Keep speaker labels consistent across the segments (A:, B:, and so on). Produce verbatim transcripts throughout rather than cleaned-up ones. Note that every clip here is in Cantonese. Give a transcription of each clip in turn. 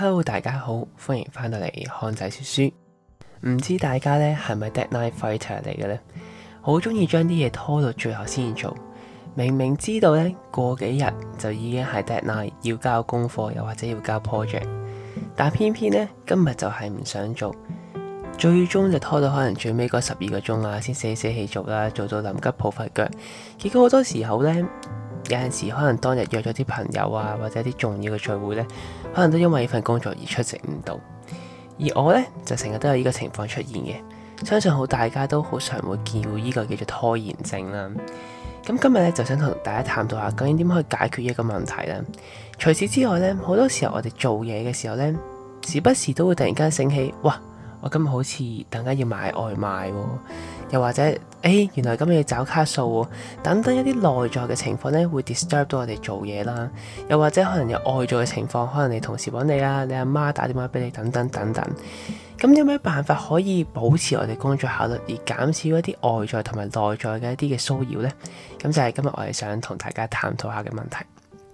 A: Hello， 大家好，歡迎翻到嚟漢仔說書。唔知大家咧係咪 deadline fighter 嚟嘅呢？好中意將啲嘢拖到最後先做，明明知道咧過幾日就已經係 deadline，要交功課又或者要交 project， 但偏偏咧今日就係唔想做，最終就拖到可能最尾嗰十二個鐘啊，先死死氣做啦，做到臨急抱佛腳。結果好多時候咧，有陣時可能當日約咗啲朋友啊，或者啲重要嘅聚會咧，可能都因為呢份工作而出席唔到。而我咧就成日都有呢個情況出現嘅，相信好大家都好常會見到呢個叫做拖延症啦。咁今日咧就想同大家探討下，究竟點可以解決呢個問題咧？除此之外咧，好多時候我哋做嘢嘅時候咧，時不時都會突然間醒起，哇！我今日好似等間要買外賣喎，又或者誒、欸、原來今日要找卡數喎，等等一啲內在嘅情況咧，會 disturb 到我哋做嘢啦。又或者可能有外在嘅情況，可能你同事揾你啊，你阿媽打電話俾你，等等等等。咁有咩辦法可以保持我哋工作效率，而減少一啲外在同埋內在嘅一啲嘅騷擾呢？咁就係今日我哋想同大家探討下嘅問題。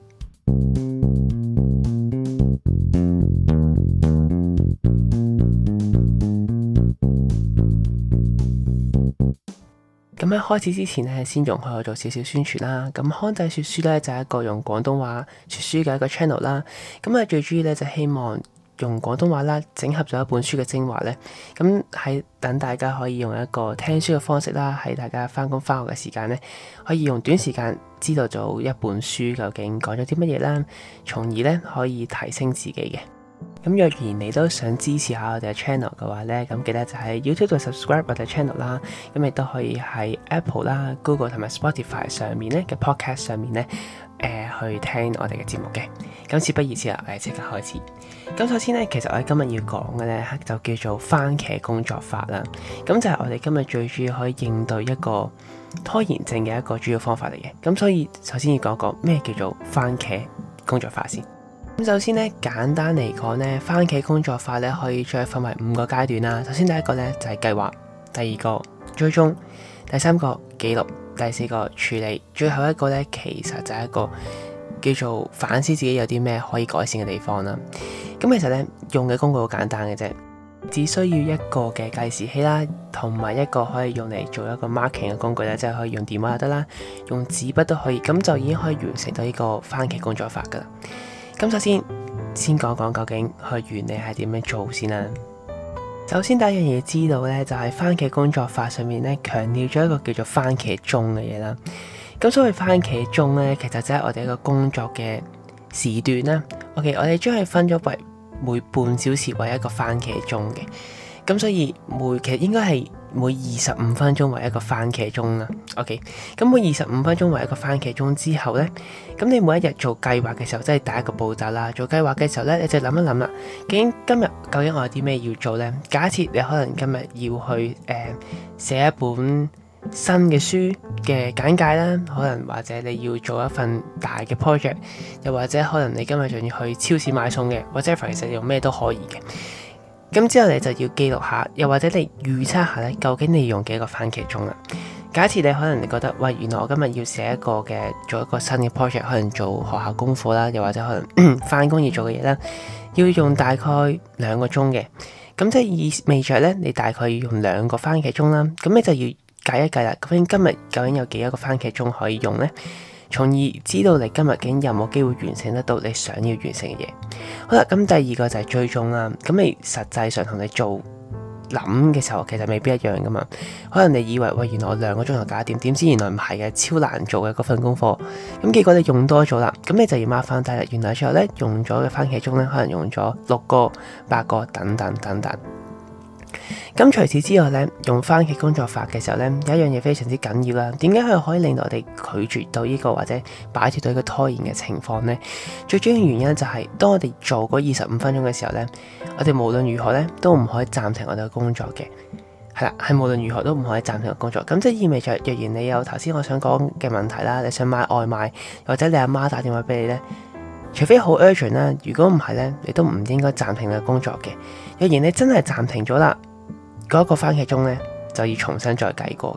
A: 咁喺開始之前咧，先容許我做少少宣傳啦。咁漢仔說書咧就係一個用廣東話說書嘅一個 channel 啦。咁啊最主要咧就希望用廣東話啦，整合咗一本書嘅精華咧。咁喺等大家可以用一個聽書嘅方式啦，喺大家翻工翻學嘅時間咧，可以用短時間知道咗一本書究竟講咗啲乜嘢啦，從而咧可以提升自己嘅。咁若然你都想支持下我哋嘅 channel 嘅話咧，咁記得就喺 YouTube 度 subscribe 我哋 channel 啦。咁亦都可以喺 Apple 啦、Google 同埋 Spotify 上面咧嘅 podcast 上面咧，誒、呃、去聽我哋嘅節目嘅。咁事不宜遲啦，我哋即刻開始。咁首先咧，其實我哋今日要講嘅咧就叫做番茄工作法啦。咁就係我哋今日最主要可以應對一個拖延症嘅一個主要方法嚟嘅。咁所以首先要講講咩叫做番茄工作法先。咁首先咧，簡單嚟講咧，番茄工作法咧可以再分為五個階段啦。首先第一個咧就係計劃，第二個追蹤，第三個記錄，第四個處理，最後一個咧其實就係一個叫做反思自己有啲咩可以改善嘅地方啦。咁其實咧用嘅工具好簡單嘅啫，只需要一個嘅計時器啦，同埋一個可以用嚟做一個 marking 嘅工具咧，即係可以用電話就得啦，用紙筆都可以，咁就已經可以完成到呢個番茄工作法噶啦。咁首先先講講究竟佢原理係點樣做先啦。首先第一樣嘢知道咧，就係番茄工作法上面咧強調咗一個叫做番茄鐘嘅嘢啦。咁所謂番茄鐘咧，其實就係我哋一個工作嘅時段啦。OK， 我哋將佢分咗為每半小時為一個番茄鐘嘅。咁所以每其實應該係每二十五分鐘為一個番茄鐘啦。OK， 咁每二十五分鐘為一個番茄鐘之後咧，咁你每一日做計劃嘅時候，即係第一個步驟啦。做計劃嘅時候咧，你就諗一諗啦，究竟今日究竟我有啲咩要做咧？假設你可能今日要去誒寫、呃、一本新嘅書嘅簡介啦，可能或者你要做一份大嘅 project， 又或者可能你今日仲要去超市買餸嘅，或者其實用咩都可以嘅。咁之後你就要記錄下，又或者你預測下咧，究竟你要用幾個番茄鐘啦？假設你可能你覺得，喂，原來我今日要寫一個嘅做一個新嘅 project， 可能做學校功課啦，又或者可能翻工要做嘅嘢啦，要用大概兩個鐘嘅。咁即係意味著咧，你大概要用兩個番茄鐘啦。咁你就要計一計啦，究竟今日究竟有幾多個番茄鐘可以用咧？從而知道你今日究竟有冇機會完成得到你想要完成嘅嘢。好啦，咁第二個就係追蹤啦。咁你實際上同你做諗嘅時候，其實未必一樣噶嘛。可能你以為喂，原來我兩個鐘頭搞掂，點知原來唔係嘅，超難做嘅嗰份功課。咁結果你用多咗啦，咁你就要 mark 翻低啦。原來最後咧用咗嘅番茄鐘咧，可能用咗六個、八個等等等等。咁除此之外咧，用番茄工作法嘅時候咧，有一樣嘢非常之緊要啦。點解佢可以令到我哋拒絕到呢個或者擺脫到呢個拖延嘅情況呢？最主要原因就係、是、當我哋做嗰二十五分鐘嘅時候咧，我哋無論如何咧都唔可以暫停我哋嘅工作嘅。係啦，係無論如何都唔可以暫停個工作。咁即係意味着，若然你有頭先我想講嘅問題啦，你想買外賣，或者你阿媽打電話俾你咧，除非好 urgent 啦，如果唔係咧，你都唔應該暫停你嘅工作嘅。若然你真係暫停咗啦，嗰、那個番茄鐘咧就要重新再計過嘅。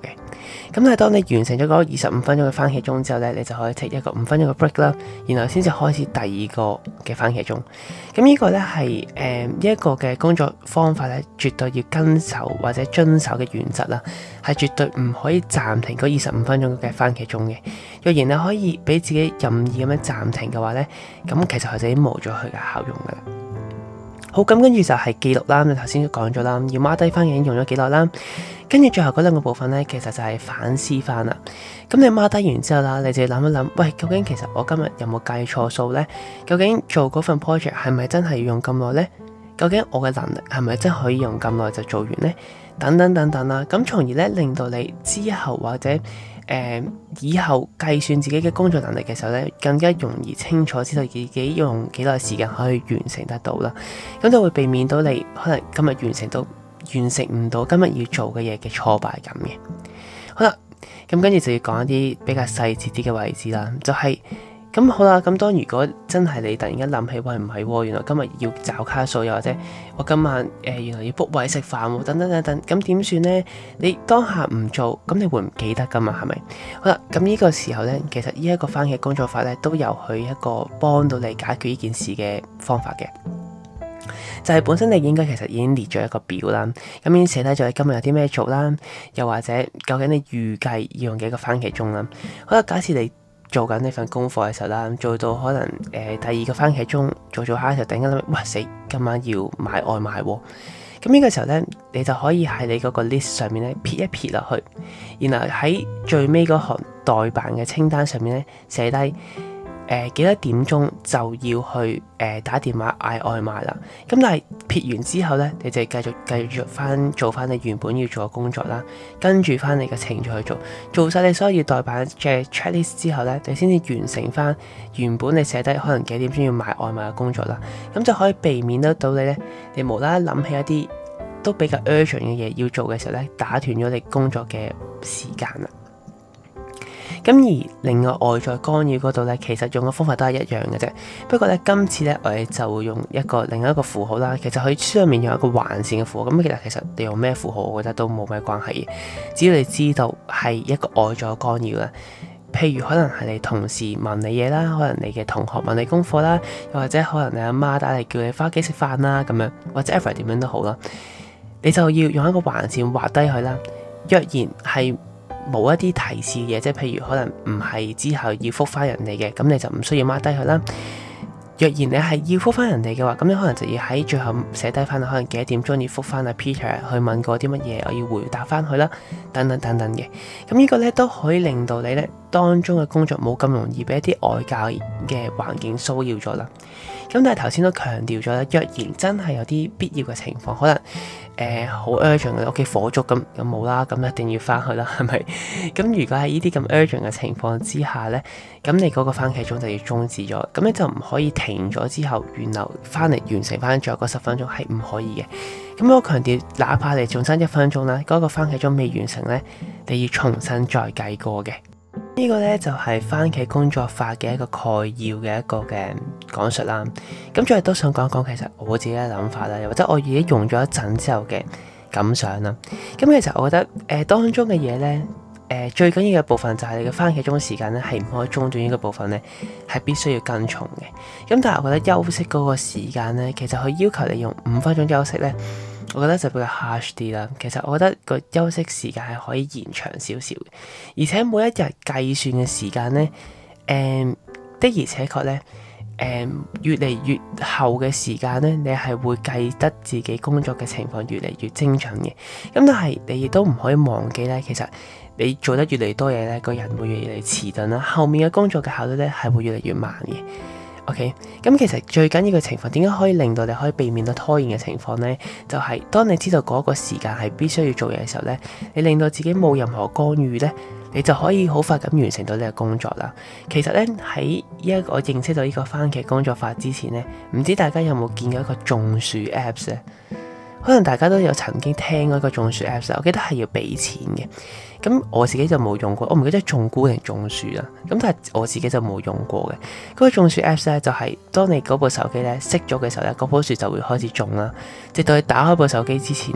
A: 咁但係當你完成咗嗰二十五分鐘嘅番茄鐘之後咧，你就可以 take 一個五分鐘嘅 break 啦，然後先至開始第二個嘅番茄鐘。咁呢個咧係誒呢一個嘅工作方法咧，絕對要跟守或者遵守嘅原則啦，係絕對唔可以暫停嗰二十五分鐘嘅番茄鐘嘅。若然你可以俾自己任意咁樣暫停嘅話咧，咁其實佢就已經冇咗佢嘅效用噶啦。好，咁跟住就係記錄啦。你頭先都講咗啦，要 mark 低翻已經用咗幾耐啦。跟住最後嗰兩個部分咧，其實就係反思翻啦。咁你 mark 低完之後啦，你就要諗一諗，喂，究竟其實我今日有冇計錯數咧？究竟做嗰份 project 係咪真係要用咁耐咧？究竟我嘅能力係咪真係可以用咁耐就做完咧？等等等等啦。咁從而咧令到你之後或者誒、呃、以後計算自己嘅工作能力嘅時候咧，更加容易清楚知道自己用幾耐時間可以完成得到啦。咁就會避免到你可能今日完成到完成唔到今日要做嘅嘢嘅挫敗感嘅。好啦，咁跟住就要講一啲比較細節啲嘅位置啦，就係、是。咁好啦，咁當如果真係你突然間諗起，喂，唔係喎，原來今日要找卡數，又或者我今晚誒、呃、原來要 book 位食飯喎，等等等等，咁點算呢？你當下唔做，咁你會唔記得噶嘛？係咪？好啦，咁呢個時候呢，其實呢一個番茄工作法呢，都有佢一個幫到你解決呢件事嘅方法嘅。就係本身你應該其實已經列咗一個表啦，咁已經寫低咗你今日有啲咩做啦，又或者究竟你預計要用幾個番茄鐘啦。好啦，假設你做緊呢份功課嘅時候啦，做到可能誒、呃、第二個番茄鐘做做下嘅時候，突然間諗，哇死，今晚要買外賣喎。咁呢個時候咧，你就可以喺你嗰個 list 上面咧撇一撇落去，然後喺最尾嗰行待辦嘅清單上面咧寫低。誒、呃、幾多點鐘就要去誒、呃、打電話嗌外賣啦。咁但係撇完之後咧，你就繼續繼續翻做翻你原本要做嘅工作啦，跟住翻你嘅程序去做，做晒你所有要代辦嘅 checklist 之後咧，你先至完成翻原本你寫低可能幾點鐘要買外賣嘅工作啦。咁就可以避免得到你咧，你無啦啦諗起一啲都比較 urgent 嘅嘢要做嘅時候咧，打斷咗你工作嘅時間啦。咁而另外外在干擾嗰度咧，其實用嘅方法都係一樣嘅啫。不過咧，今次咧我哋就會用一個另一個符號啦。其實佢書入面有一個橫線嘅符號，咁其實其實你用咩符號，我覺得都冇咩關係嘅。只要你知道係一個外在干擾啦，譬如可能係你同事問你嘢啦，可能你嘅同學問你功課啦，又或者可能你阿媽打嚟叫你返屋企食飯啦咁樣，或者 ever 點樣都好啦，你就要用一個橫線畫低佢啦。若然係冇一啲提示嘅嘢，即係譬如可能唔係之後要覆返人哋嘅，咁你就唔需要 mark 低佢啦。若然你係要覆返人哋嘅話，咁你可能就要喺最後寫低返可能幾多點鐘要覆返阿 Peter 去問過啲乜嘢，我要回答返佢啦，等等等等嘅。咁呢個咧都可以令到你咧當中嘅工作冇咁容易俾一啲外界嘅環境騷擾咗啦。咁但係頭先都強調咗啦，若然真係有啲必要嘅情況，可能誒好 urgent 嘅屋企火燭咁，咁冇啦，咁一定要翻去啦，係咪？咁如果喺呢啲咁 urgent 嘅情況之下咧，咁你嗰個番茄鐘就要終止咗，咁你就唔可以停咗之後，原來翻嚟完成翻最後嗰十分鐘係唔可以嘅。咁我強調，哪怕你仲差一分鐘啦，嗰個番茄鐘未完成咧，你要重新再計過嘅。呢個咧就係番茄工作法嘅一個概要嘅一個嘅講述啦。咁最後都想講一講其實我自己嘅諗法啦，又或者我已經用咗一陣之後嘅感想啦。咁其實我覺得誒、呃、當中嘅嘢咧，誒、呃、最緊要嘅部分就係你嘅番茄鐘時間咧係唔可以中斷，呢個部分咧係必須要跟從嘅。咁但係我覺得休息嗰個時間咧，其實佢要求你用五分鐘休息咧，我覺得就比較 harsh 啲啦。其實我覺得個休息時間係可以延長少少嘅，而且每一日計算嘅時間咧，誒、呃、的而且確咧，誒、呃、越嚟越後嘅時間咧，你係會計得自己工作嘅情況越嚟越精準嘅。咁但係你亦都唔可以忘記咧，其實你做得越嚟越多嘢咧，個人會越嚟越遲鈍啦，後面嘅工作嘅效率咧係會越嚟越慢嘅。OK，咁其實最緊要嘅情況，點解可以令到你可以避免到拖延嘅情況呢？就係、是、當你知道嗰個時間係必須要做嘢嘅時候呢，你令到自己冇任何干預呢，你就可以好快咁完成到呢個工作啦。其實呢，喺呢一個我認識到呢個番茄工作法之前呢，唔知大家有冇見過一個種樹 Apps 呢？可能大家都有曾經聽過一個種樹 Apps，我記得係要俾錢嘅。咁我自己就冇用過，我唔記得種菇定種樹啦。咁但係我自己就冇用過嘅。嗰個種樹 Apps 咧，就係當你嗰部手機咧熄咗嘅時候咧，嗰棵樹就會開始種啦。直到你打開部手機之前咧，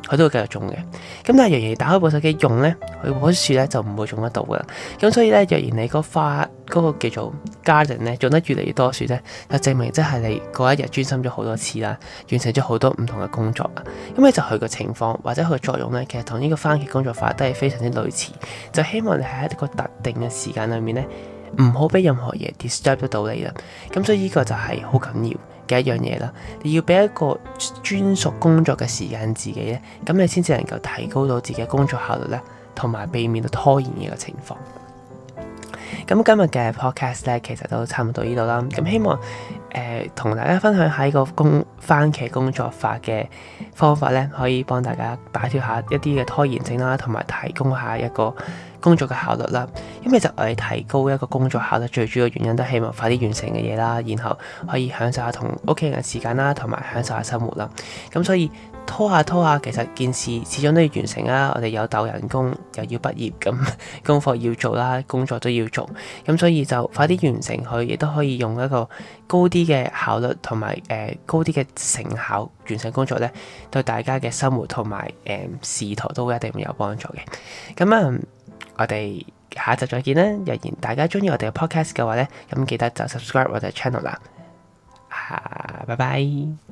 A: 佢都會繼續種嘅。咁但係若然你打開部手機用咧，佢棵樹咧就唔會種得到噶啦。咁所以咧，若然你個花嗰、嗰個叫做 garden 咧種得越嚟越多樹咧，就證明即係你嗰一日專心咗好多次啦，完成咗好多唔同嘅工作啦。咁咧就佢個情況或者佢個作用咧，其實同呢個番茄工作法都係非常之類似。就希望你喺一個特定嘅時間裏面咧，唔好俾任何嘢 disturb 得到你啦。咁所以呢個就係好緊要嘅一樣嘢啦。你要俾一個專屬工作嘅時間自己咧，咁你先至能夠提高到自己嘅工作效率咧，同埋避免到拖延嘅個情況。咁今日嘅 podcast 咧，其實都差唔多到呢度啦。咁希望誒同、呃、大家分享下呢個工番茄工作法嘅方法咧，可以幫大家擺脫下一啲嘅拖延症啦，同埋提供下一個工作嘅效率啦。咁其實我哋提高一個工作效率最主要原因都係希望快啲完成嘅嘢啦，然後可以享受下同屋企人嘅時間啦，同埋享受下生活啦。咁所以拖下拖下，其實件事始終都要完成啦。我哋有鬥人工，又要畢業，咁功課要做啦，工作都要做。咁所以就快啲完成佢，亦都可以用一個高啲嘅效率同埋誒高啲嘅成效完成工作咧，對大家嘅生活同埋誒仕途都會一定會有幫助嘅。咁啊、嗯，我哋下一集再見啦。若然大家中意我哋嘅 podcast 嘅話咧，咁記得就 subscribe 我哋 channel 啦。啊，拜拜。